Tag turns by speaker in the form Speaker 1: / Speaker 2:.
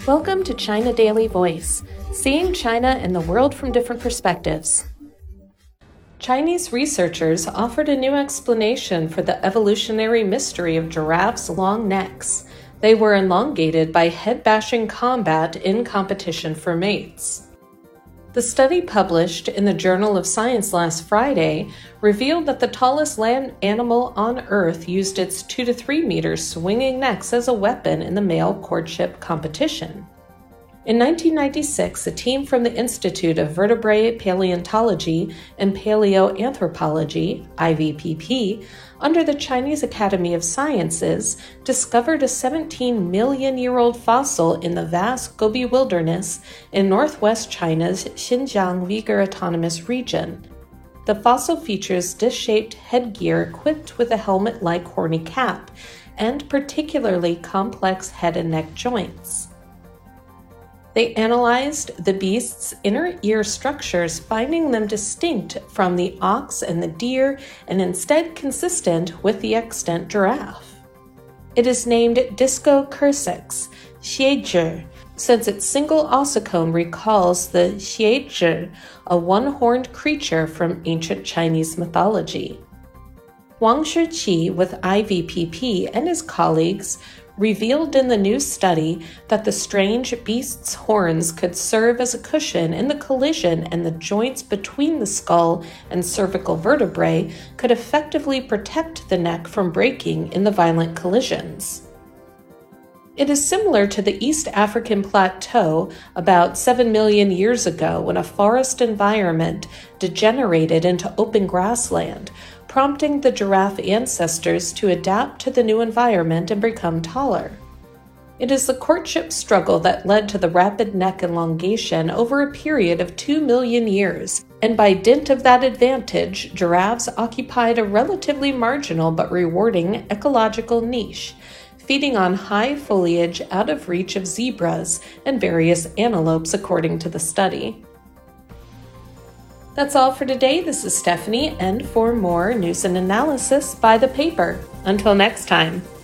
Speaker 1: Welcome to China Daily Voice, seeing China and the world from different perspectives. Chinese researchers offered a new explanation for the evolutionary mystery of giraffes' long necks. They were elongated by head-bashing combat in competition for mates. The study published in the Journal of Science last Friday revealed that the tallest land animal on Earth used its 2 to 3 meters swinging necks as a weapon in the male courtship competition. In 1996, a team from the Institute of Vertebrate Paleontology and Paleoanthropology, IVPP, under the Chinese Academy of Sciences, discovered a 17-million-year-old fossil in the vast Gobi Wilderness in northwest China's Xinjiang Uyghur Autonomous Region. The fossil features disc-shaped headgear equipped with a helmet-like horny cap and particularly complex head and neck joints. They analyzed the beast's inner ear structures, finding them distinct from the ox and the deer and instead consistent with the extant giraffe. It is named Discocursix, xiezhi, since its single ossicone recalls the xiezhi, a one-horned creature from ancient Chinese mythology. Wang Shiqi with IVPP and his colleagues revealed in the new study that the strange beast's horns could serve as a cushion in the collision, and the joints between the skull and cervical vertebrae could effectively protect the neck from breaking in the violent collisions. It is similar to the East African plateau about 7 million years ago when a forest environment degenerated into open grassland, prompting the giraffe ancestors to adapt to the new environment and become taller. It is the courtship struggle that led to the rapid neck elongation over a period of 2 million years, and by dint of that advantage, giraffes occupied a relatively marginal but rewarding ecological niche, feeding on high foliage out of reach of zebras and various antelopes according to the study. That's all for today. This is Stephanie, and for more news and analysis, buy the paper. Until next time.